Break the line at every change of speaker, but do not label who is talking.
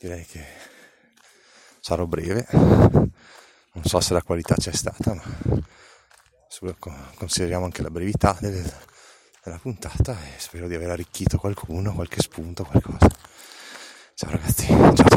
direi che sarò breve, non so se la qualità c'è stata, ma consideriamo anche la brevità della puntata e spero di aver arricchito qualcuno, qualche spunto, qualcosa. Ciao ragazzi, ciao.